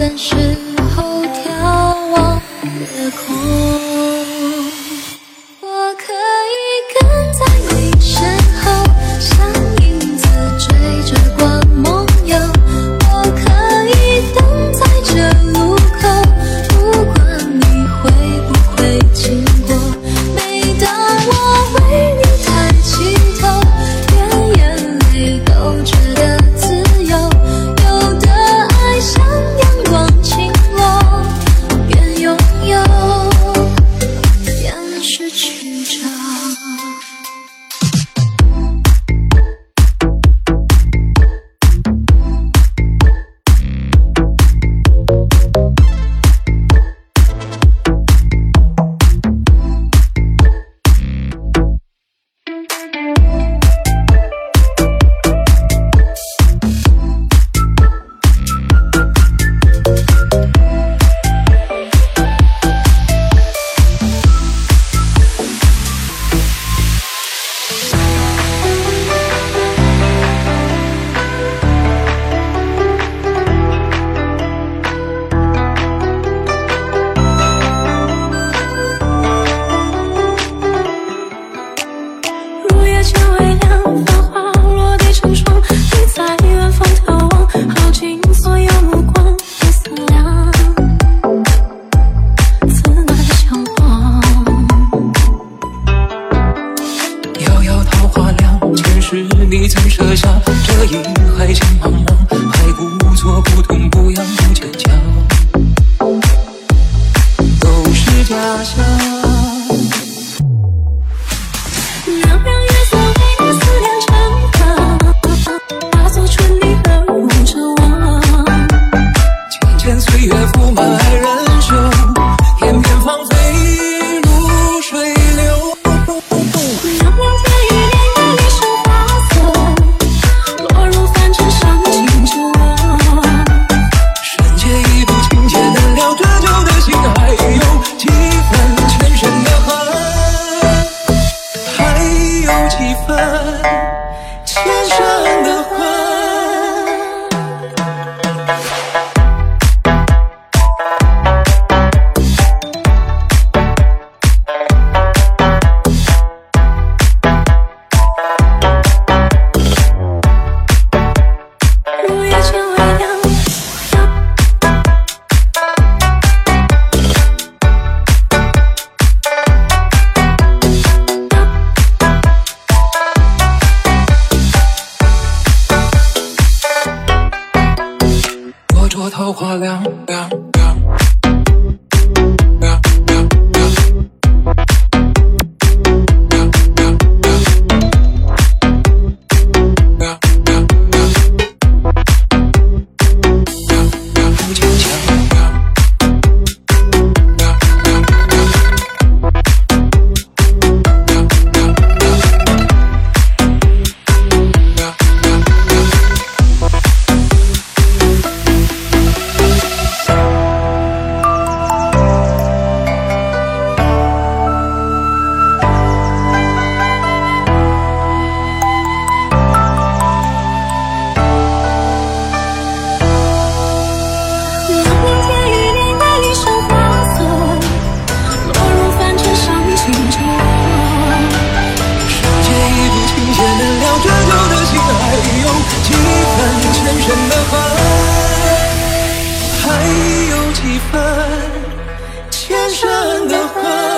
的时候眺望夜空，我可以跟在你身后，像影子追着光梦游，我可以等在这路口，不管你会不会经过。每当我为你抬起头，连眼泪都觉得自由，有的爱像阳光倾落，愿拥有，愿失去着。 你曾设下这一海情茫茫，还故作不痛不痒不坚强，都是假象。 让月色为你思念成河，化作春泥呵护着我。 渐渐岁月覆满爱人袖，片片芳菲如水流。 让明天与年月里生花色，落入凡尘伤情着我。 深夜一度情节难了，折旧的心还有几分前生的恨，还有几分前生的恨。 着桃花凉凉前生的恨。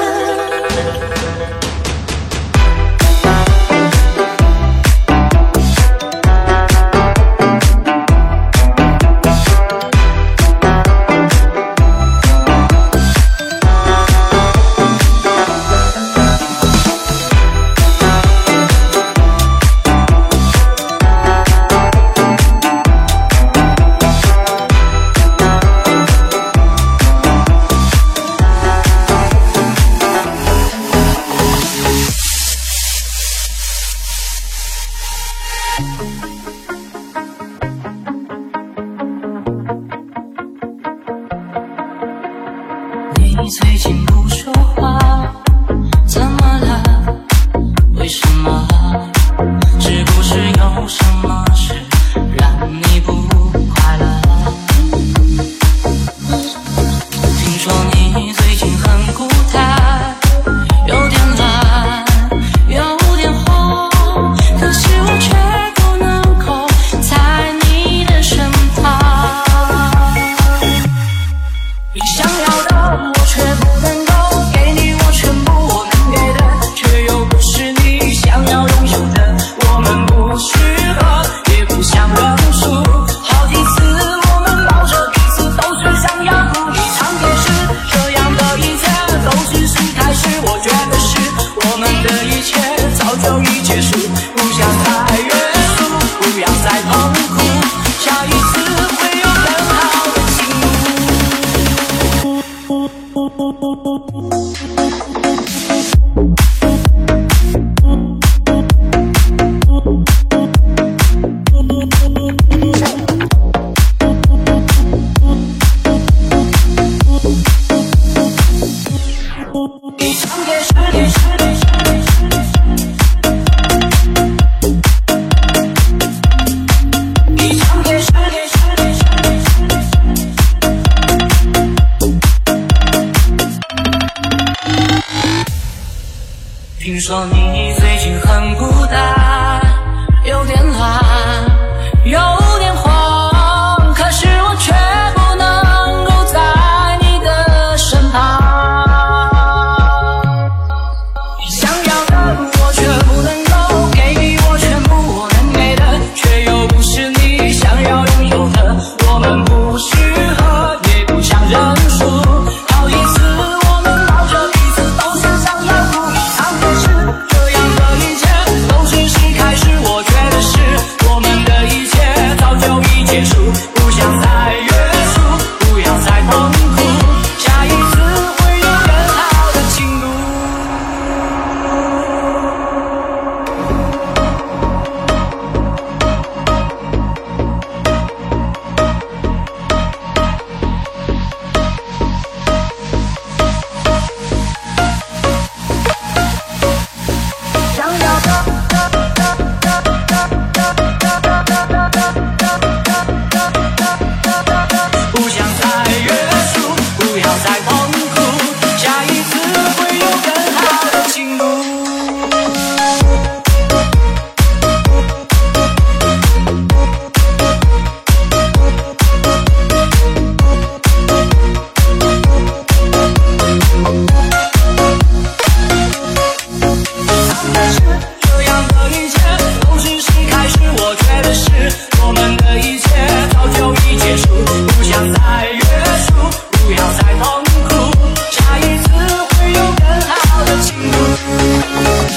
你最近不说话，怎么了？为什么？是不是有什么事让你不快乐？ 听说你最近很孤单，有点懒，有点慌，可是我却不能够在你的身旁。想要的我却不能够给你，我全部我能给的，却又不是你想要拥有的。我们不适合，也不想认输，好几次我们抱着彼此都是想要哭。这样的一切都只是开始，我觉得是我们的一切早就已结束，不想再约束，不要再痛苦，下一次会有更好的情路。不想再约束，不要再痛苦，下一次会有更好的情路。这样的一切都只是开始，我觉得是我们的一切早就已结束，不想再约束，不要再痛苦，下一次会有更好的情路。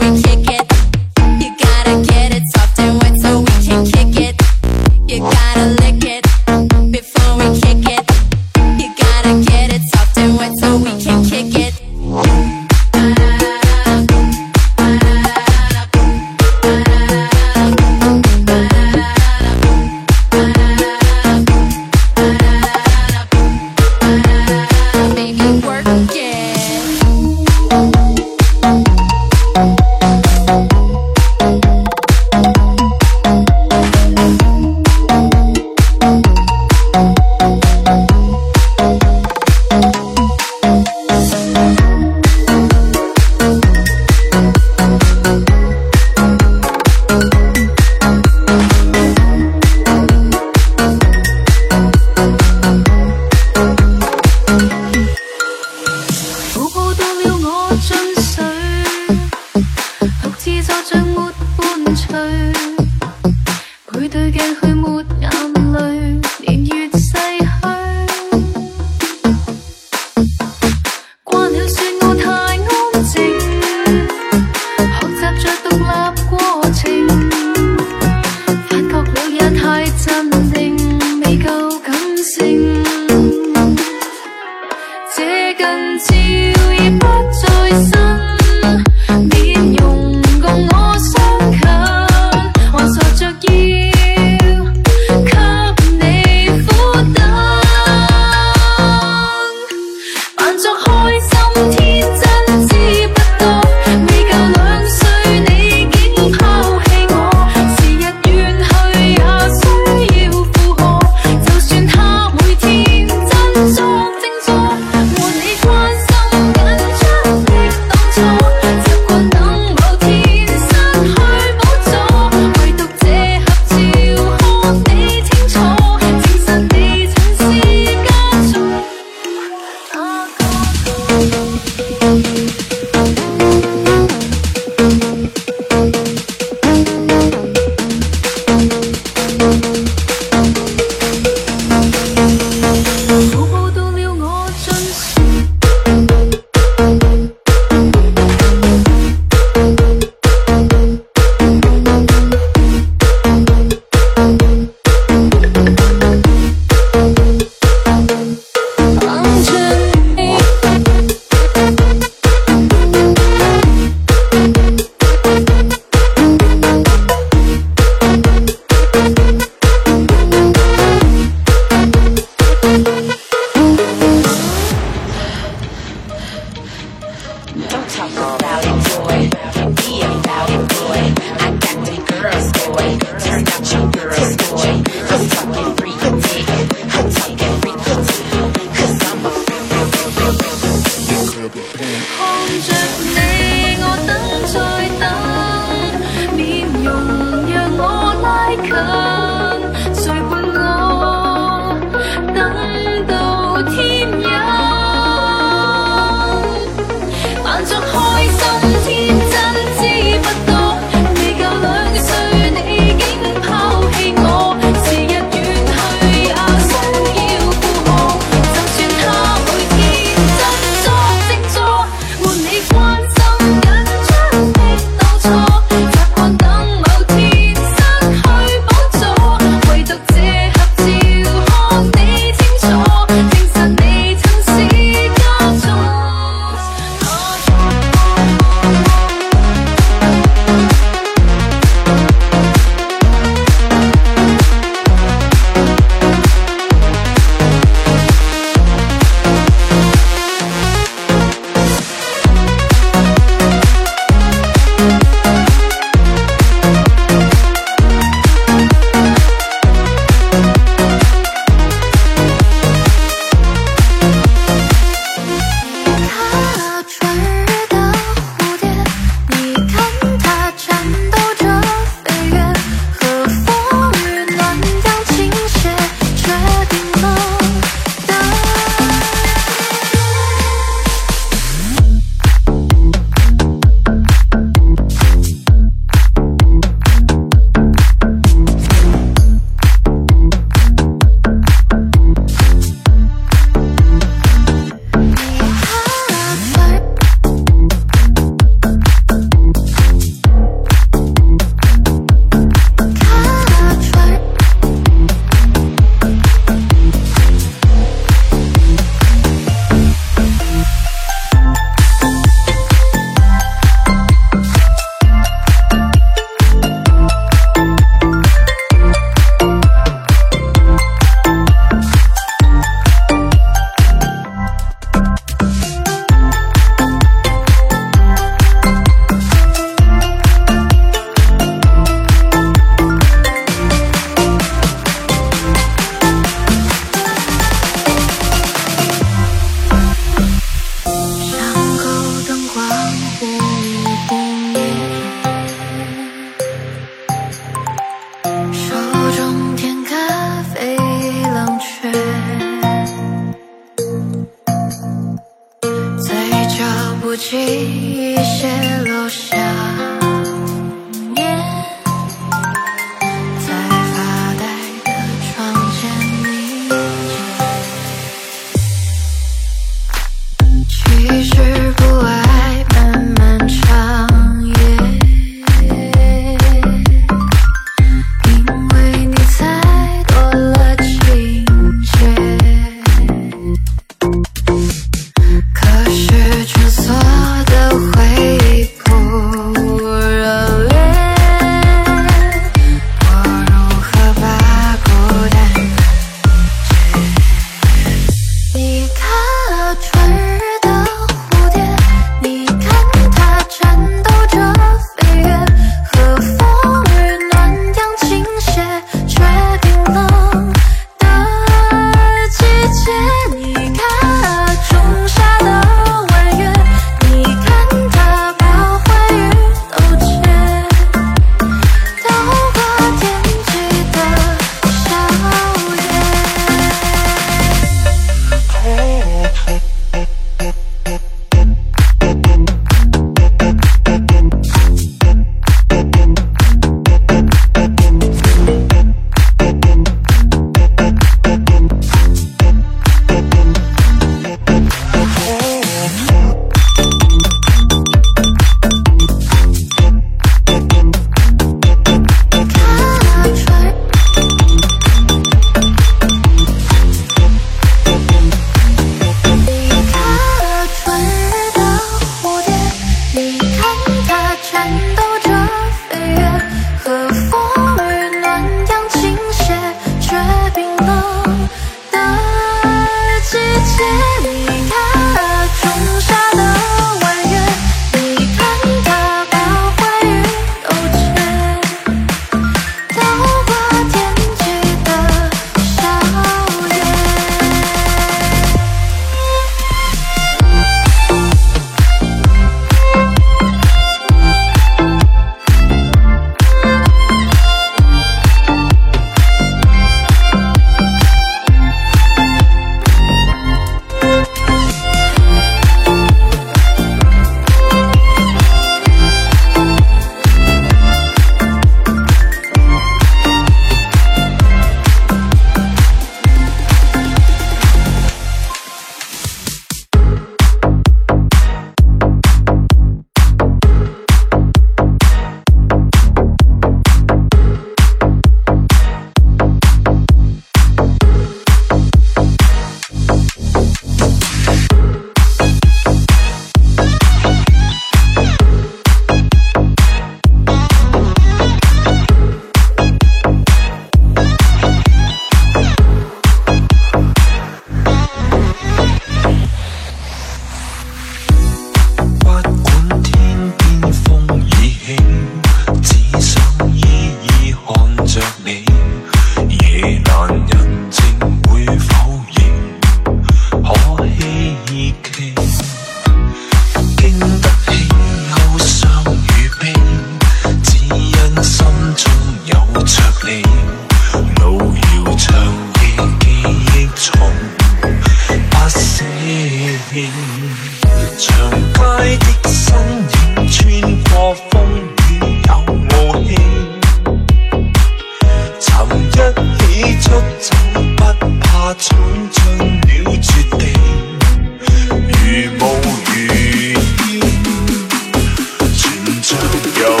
就不怕闖進了絕地，如無如煙，全像遊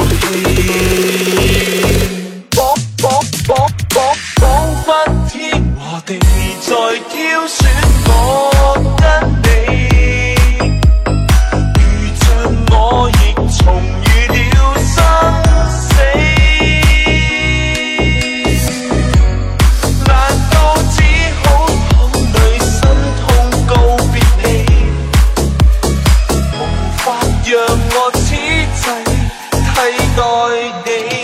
戲。彷彿天和地在挑選我跟你，如像我亦重遇了生死。難道只好淌淚心痛告別你，無法讓我此際替代你。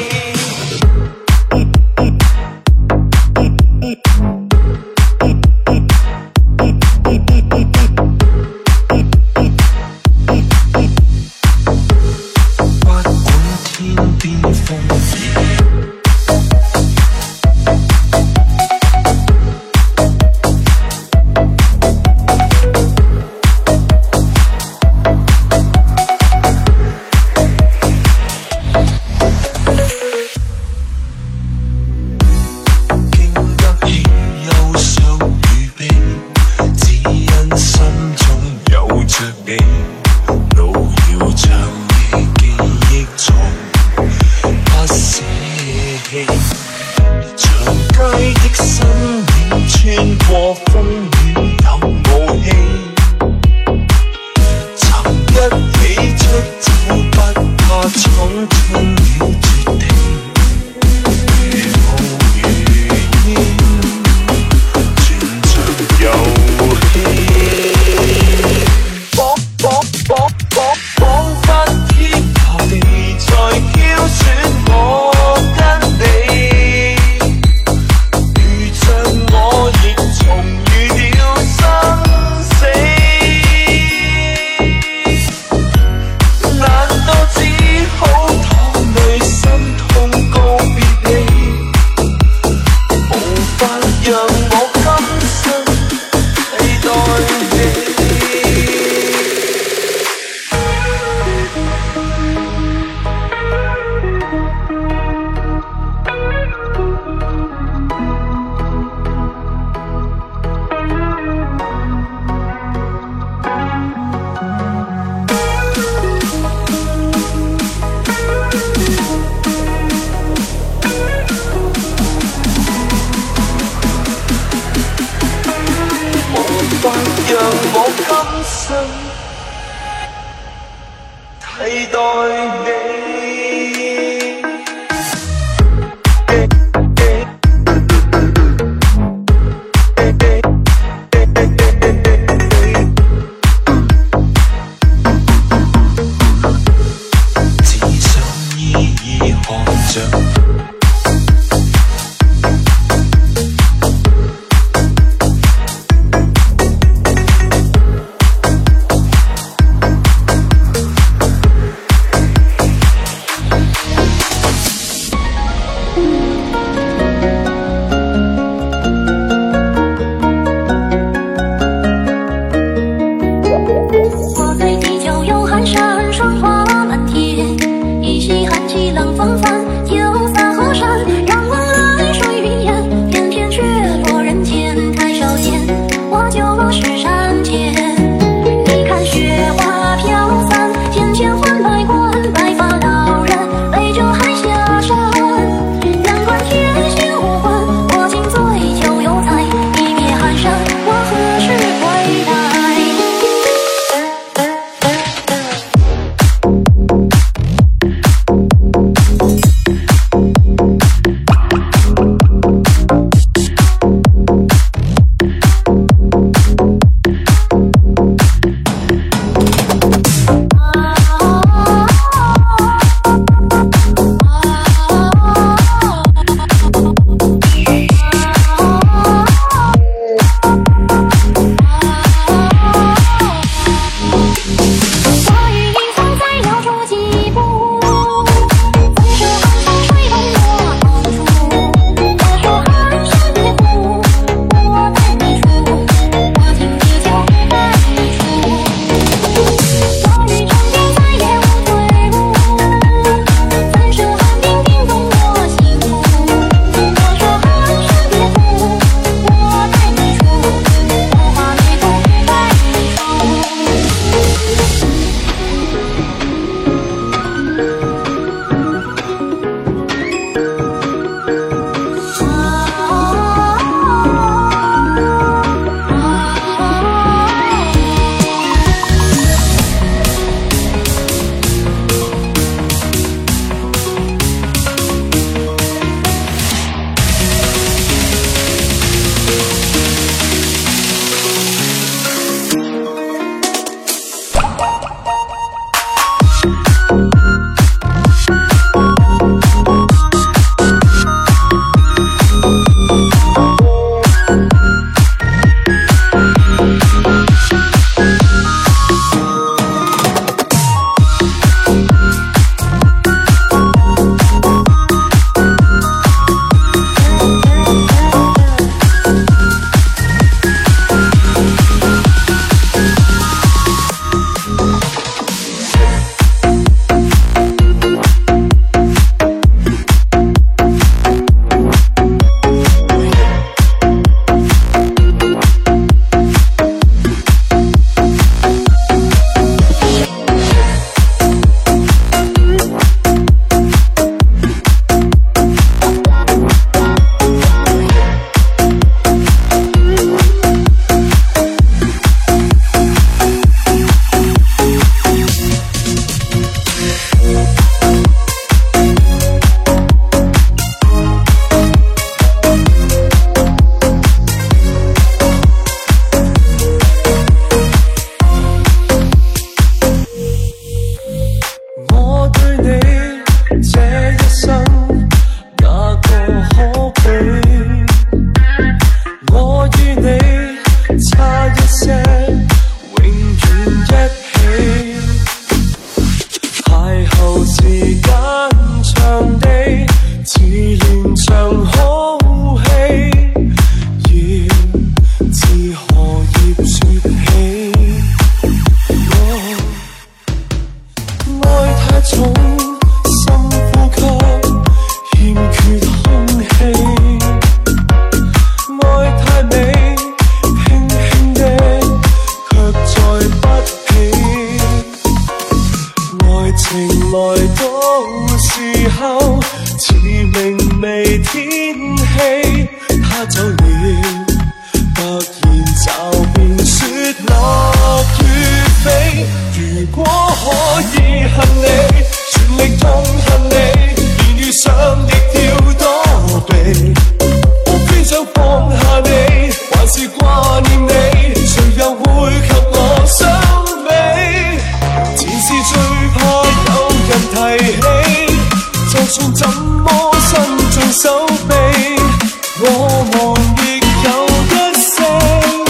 走了，突然就變雪落雨飛。如果可以恨你，全力痛恨你，連遇上亦要躲避。無非想放下你，還是掛念你，誰又會及我相比？前事最怕有人提起，就算怎麼伸盡手臂，我們亦有一些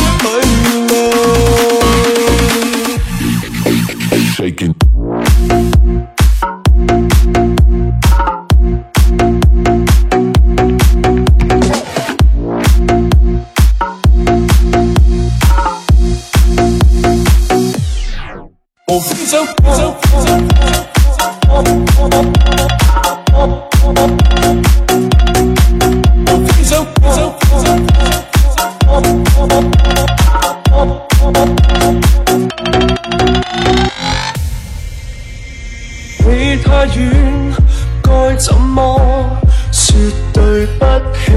距離。無非想你太遠，該怎麼說對不起？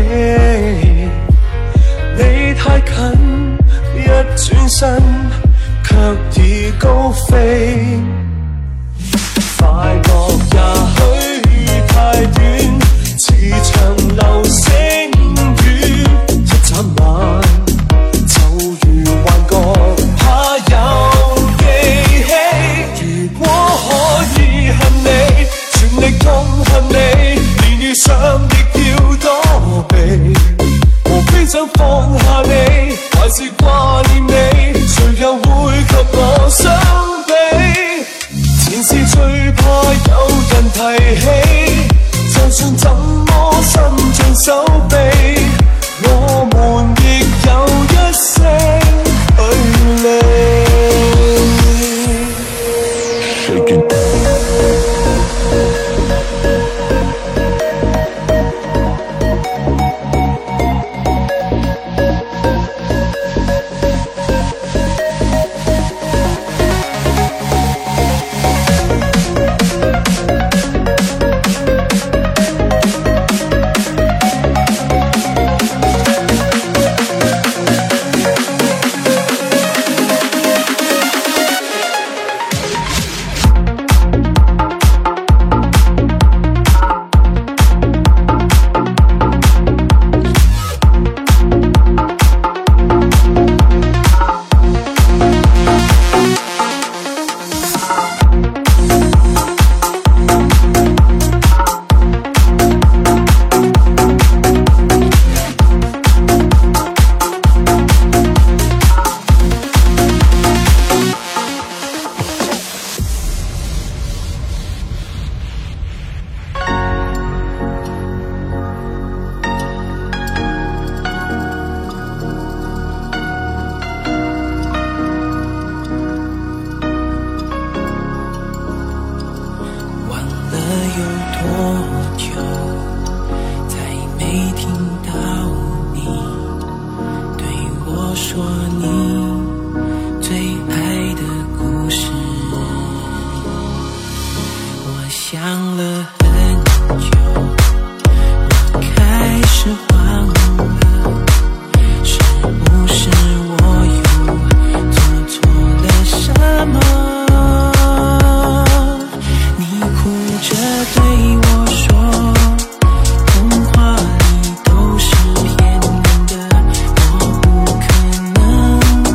你太近，一轉身卻已高飛。快樂也許太短，似場流星雨，一眨眼就如幻覺，怕有記起。如果可以恨你，全力痛恨你，連遇上亦要躲避。無非想放下你，還是掛念你，誰又會及我相比？前事最怕有人提起，就算怎麼伸盡手臂，我們亦有一些距離。 童话里都是骗人的，我不可能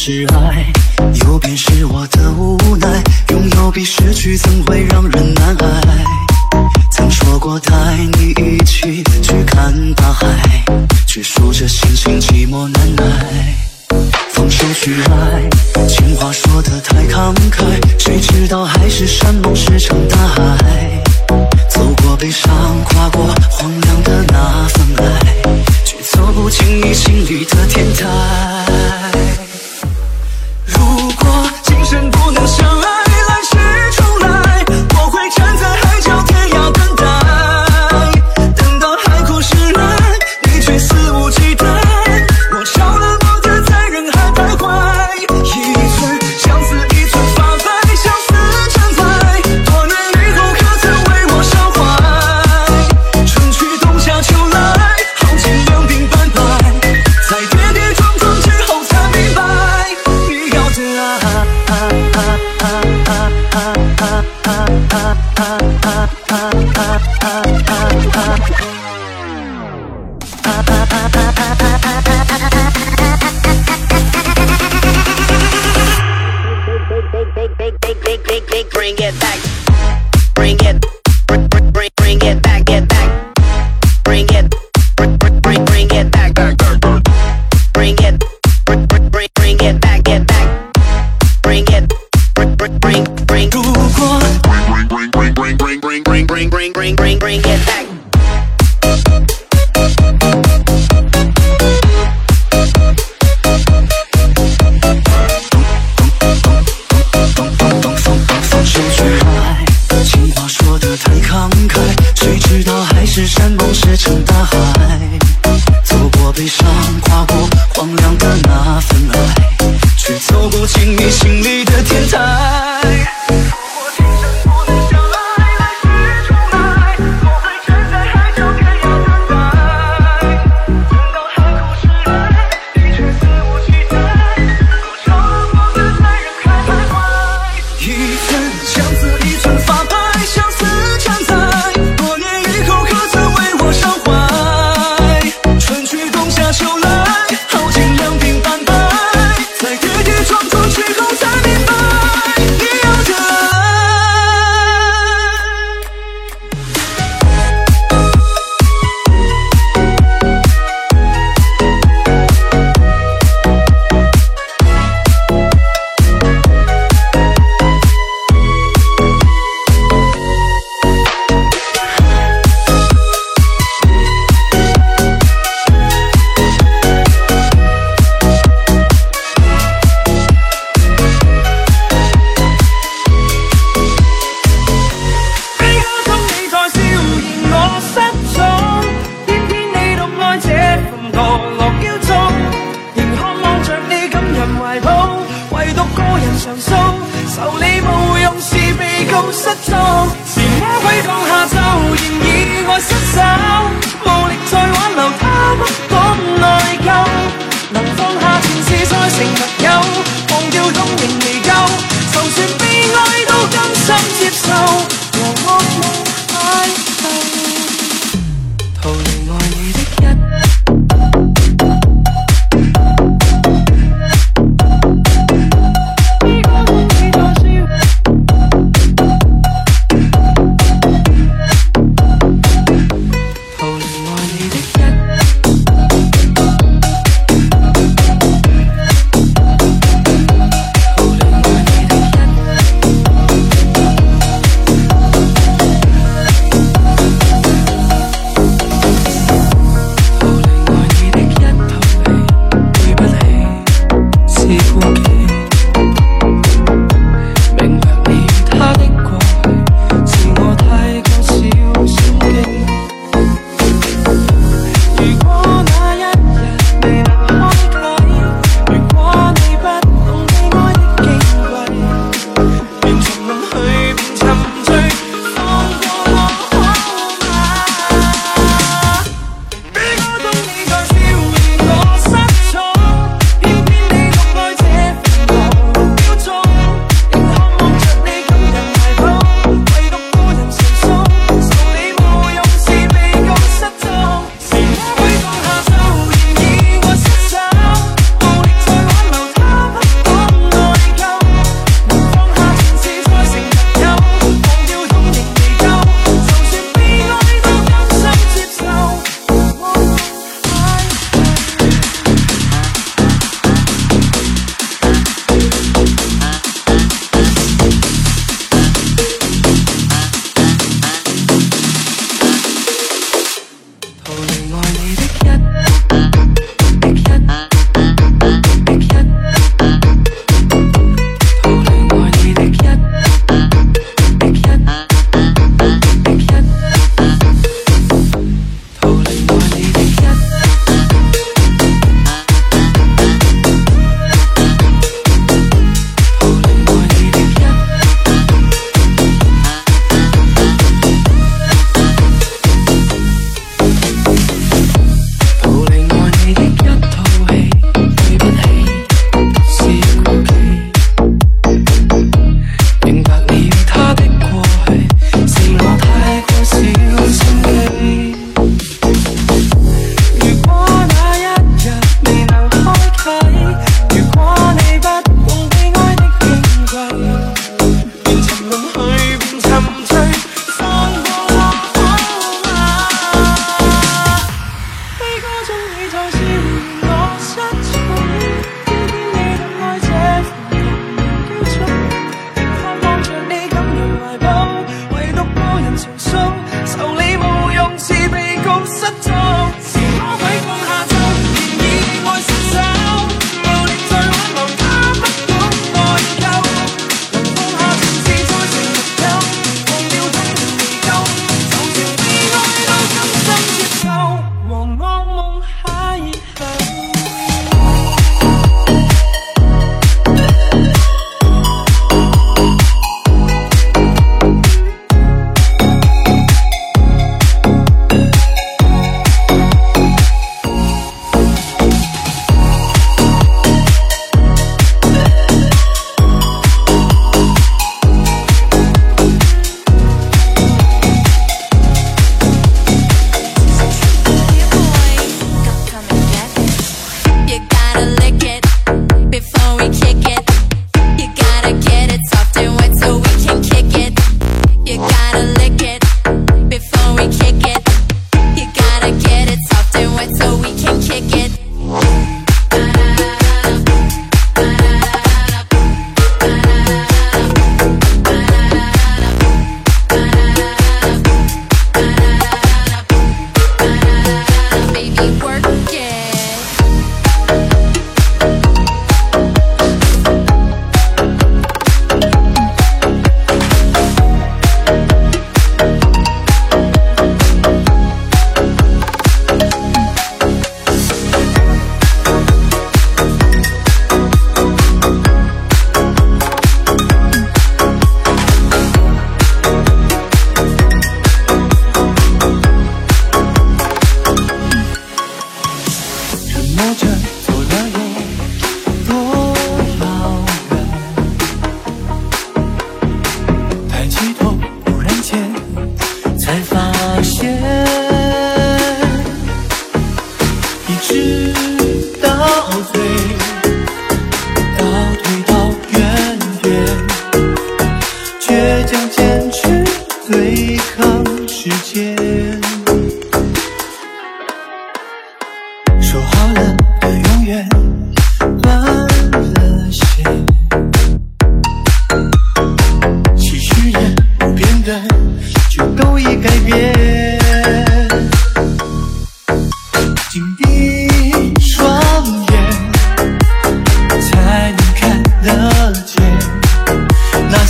是爱，有便是我的无奈。拥有比失去怎会让人难挨？曾说过带你一起去看大海，却数着心情寂寞难耐。放手去爱，情话说得太慷慨，谁知道海誓山盟石沉大海。走过悲伤，跨过荒凉的那份爱，却走不进你心里的天台。如果今生不能相爱，来世重来，我会站在海角天涯等待，等到海枯石烂，你却肆无忌惮。我着了魔的在人海徘徊，一寸相思一寸发白，相思成灾。多年以后可曾为我伤怀？春去冬夏秋来，耗尽两鬓斑白，在跌跌撞撞之后才明白，你要的爱。 Bring it back, bring it, bring it back, get back, bring it, bring it back, bring it, bring it back, get back, bring it, bring. 如果 bring it back. 放手去爱，情话说得太慷慨，谁知道海誓山盟石沉大海。走过悲伤，跨过荒凉的那份爱，却走不进你心里的天台。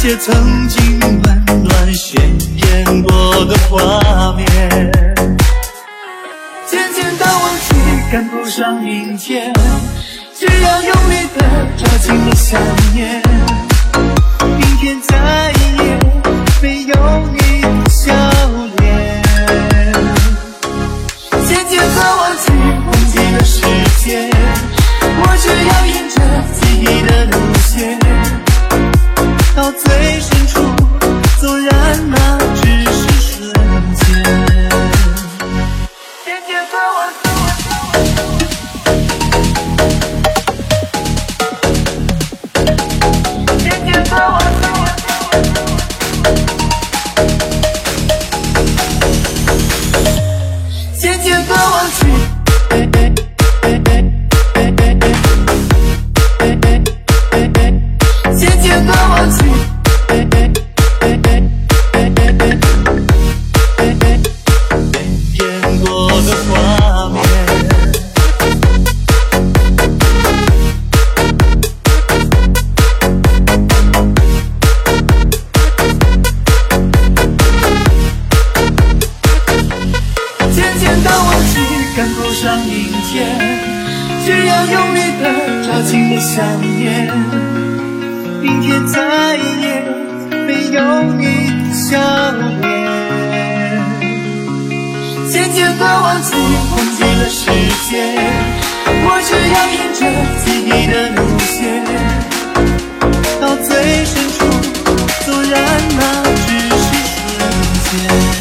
些曾经温暖渲染过的画面，渐渐的忘记赶不上明天，只要用力的抓紧了想念，明天再也没有你的笑脸，渐渐的忘记了时间，我只要沿着记忆的路线，到最深处，纵然那只是瞬间。渐渐的忘记，渐渐的忘记，渐渐的忘记。渐渐的忘记，演过的画面，渐渐的忘记赶不上明天，只要用力的抓紧了想念，明天再也没有你的笑脸，渐渐的忘记了时间，我只要沿着记忆的路线，到最深处，纵然那只是瞬间。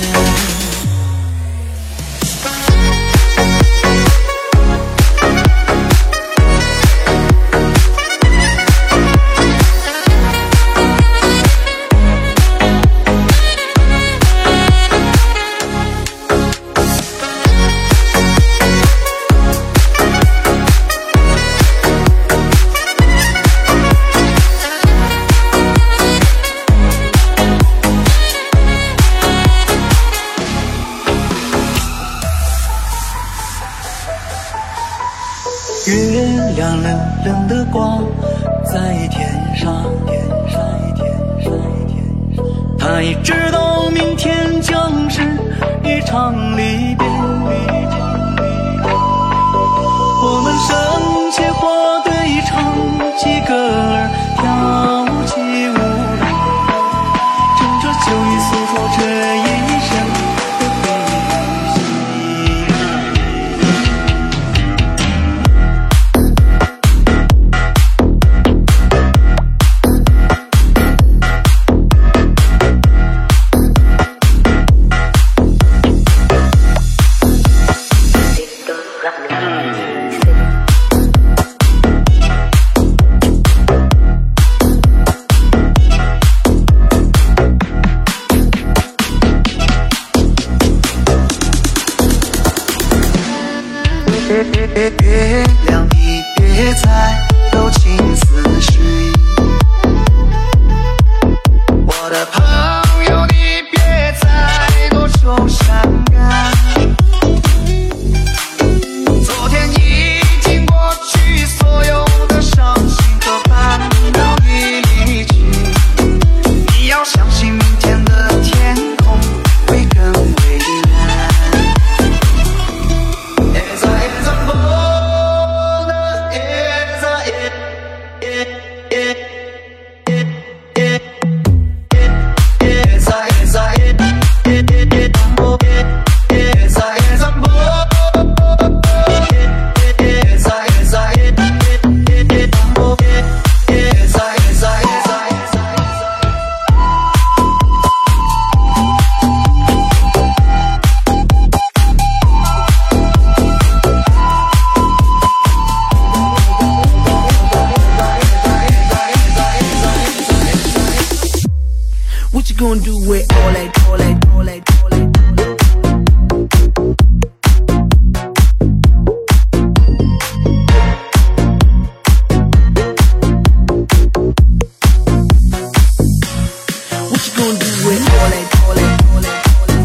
月亮冷冷的挂在天上，他也知道明天将是一场离别，我们生且花对唱起歌儿，跳起舞来，乘着秋雨诉说这一生的悲喜。月亮，你别再柔情似水，我的朋友，你别再多愁善感。昨天已经过去，所有的伤心和烦恼已离去，你要相信明天的天空会更蔚蓝。 What you gonna do with all that, all that, all that, all that? What you gonna do with all that, all that, all that, all that?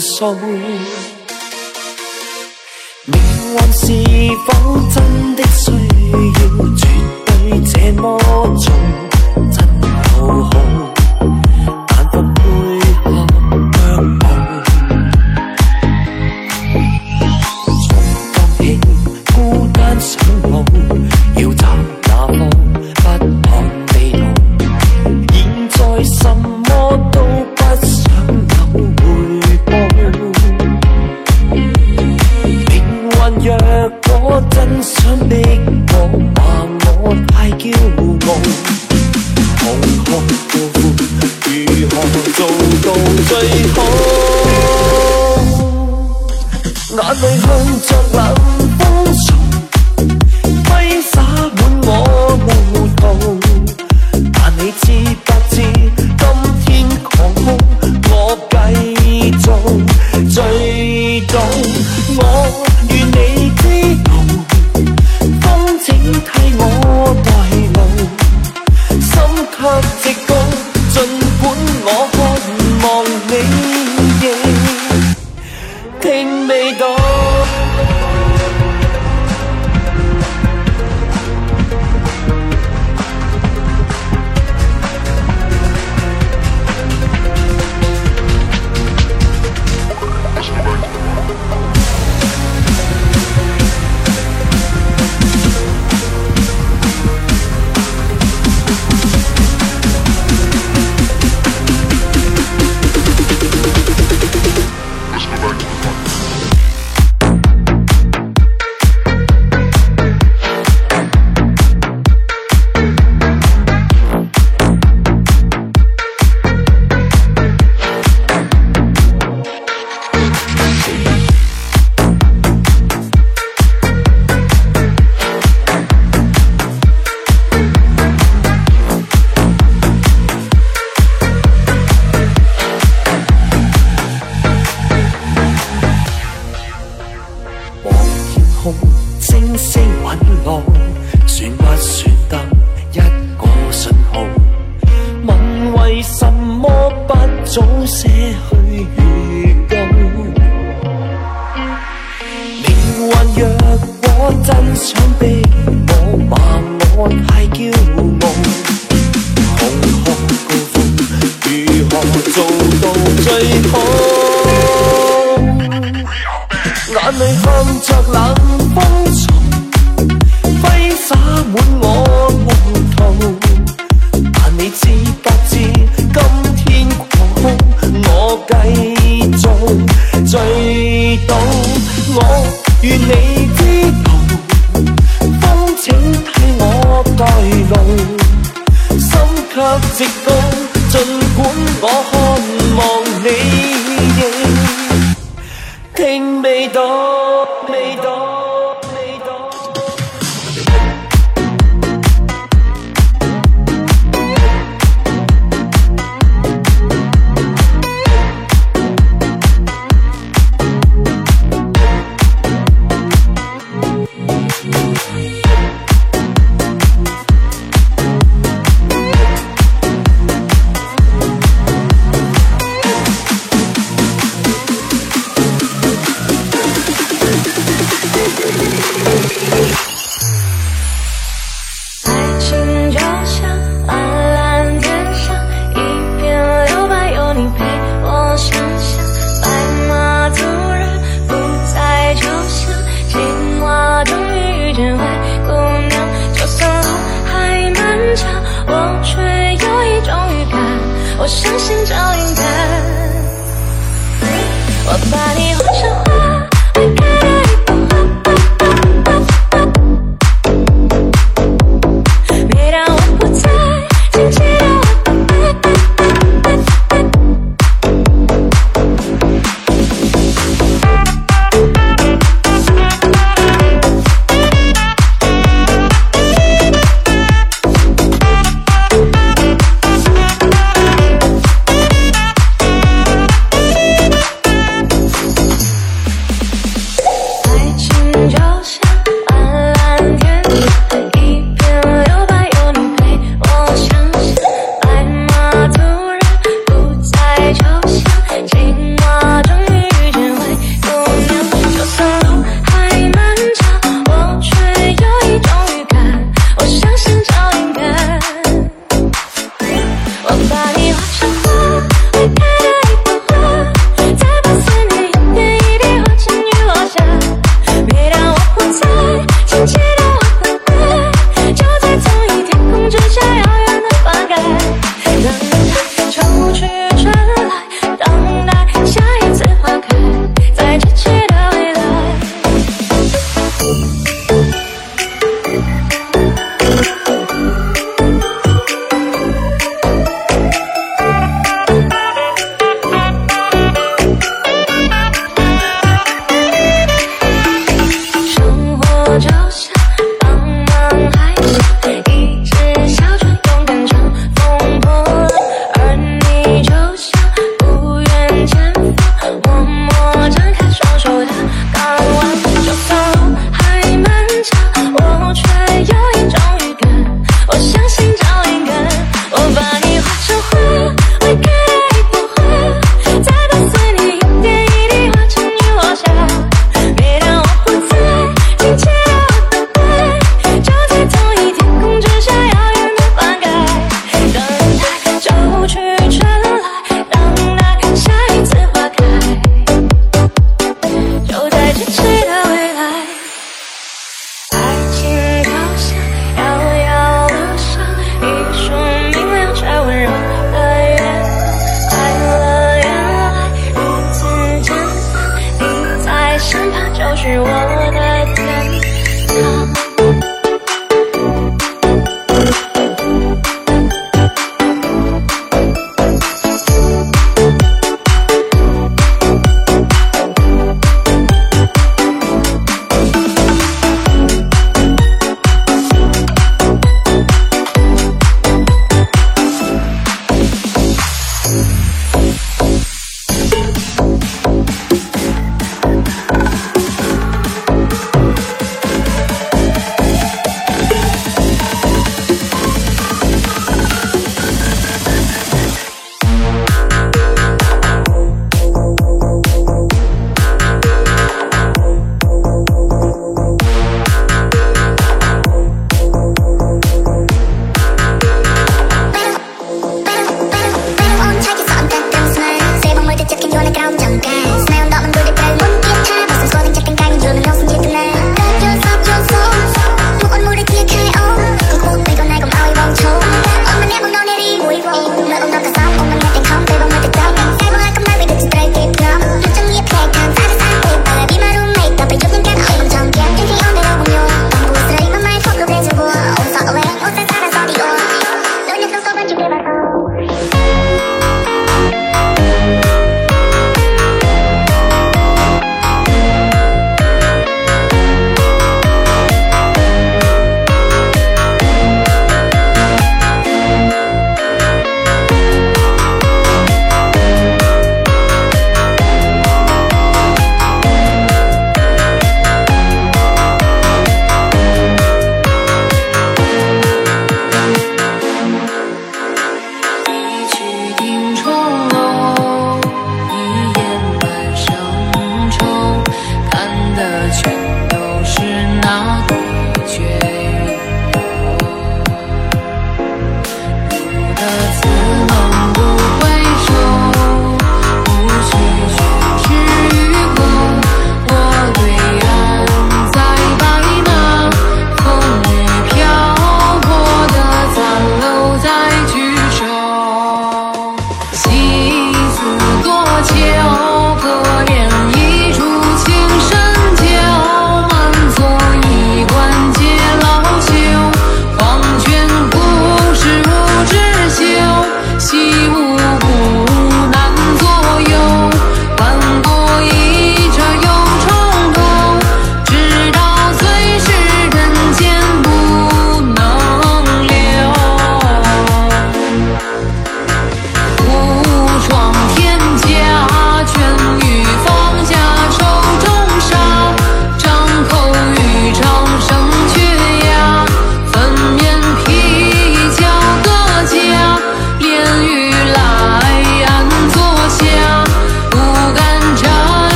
訴。命運是否真的需要絕對這麼重？真好好，但不配合腳步。從放棄孤單上路，要找那方不看地圖。現在什麼都不想有回報。命運若果真想逼我，話我太驕傲。空空呼呼，如何做到最好？眼淚向着冷風從揮灑滿我路途，但你知不知今天狂風我繼續醉倒。我願你知道，風請替我帶路，心卻直高，儘管我渴望你亦聽未到。星星隕落，算不算得一個信號？問為什麼不早些去預告？命運若果真想逼我，罵我太驕傲。空空高峰，如何做到最好？眼淚向着冷風從揮灑滿我路途，但你知不知今天狂風我繼續醉倒。我願你知道，風請替我帶路，心卻直高，儘管我渴望你亦聽未到，未到。 我相信就应该，我把你换成花，会开的一朵花。每当我不在，请记得是我的天堂。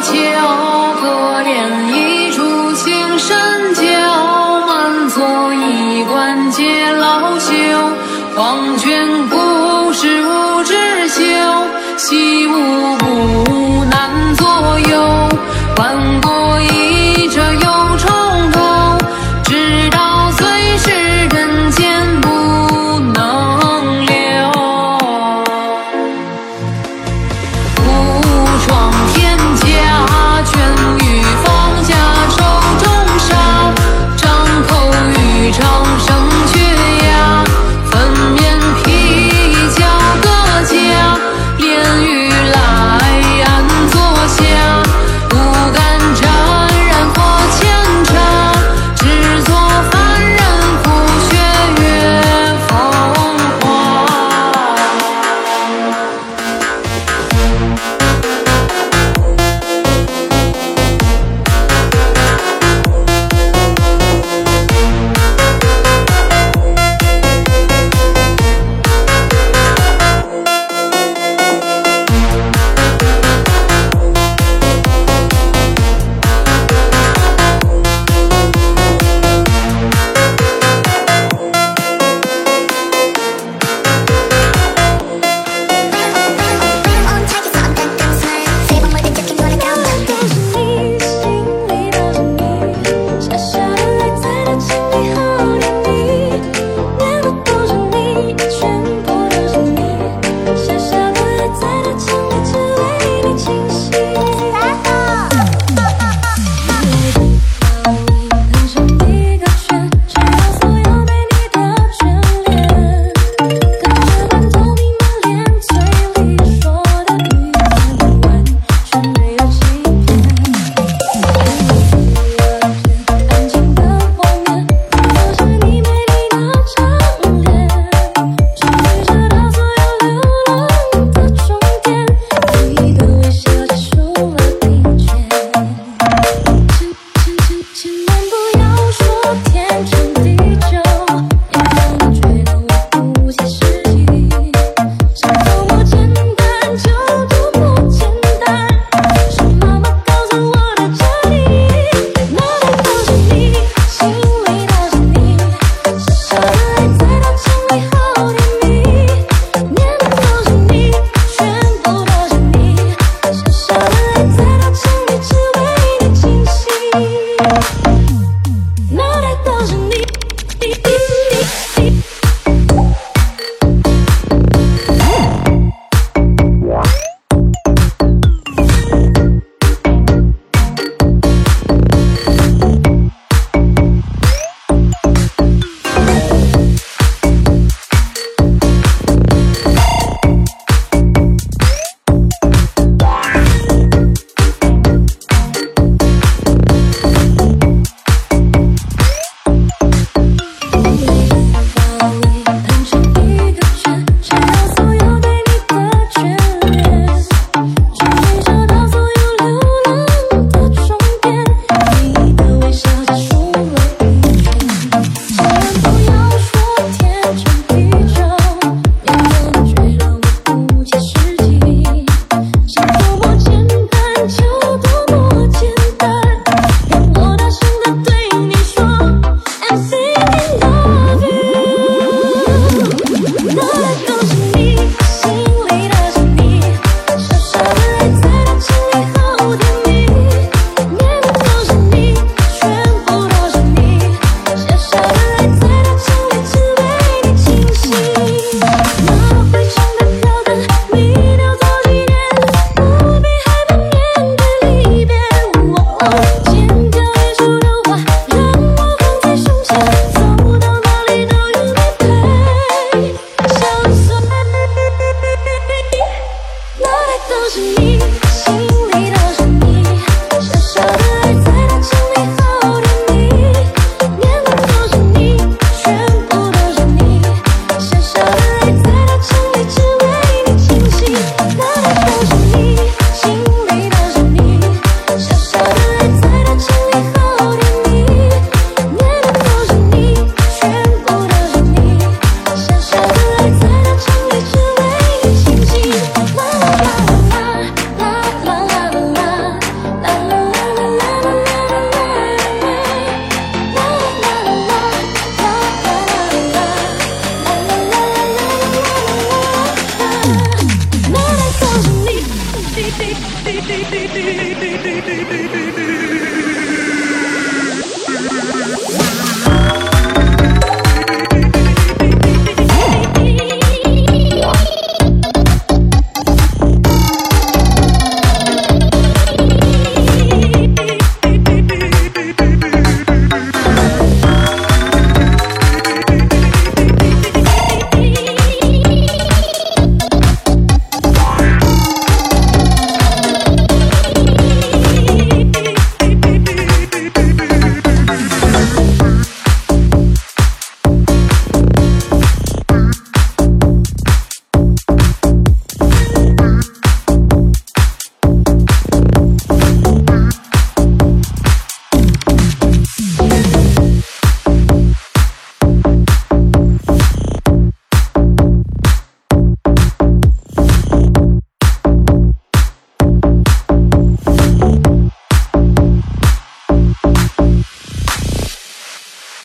求，可怜一出青山娇，满座衣冠皆老朽。黄泉故事无知休，西吴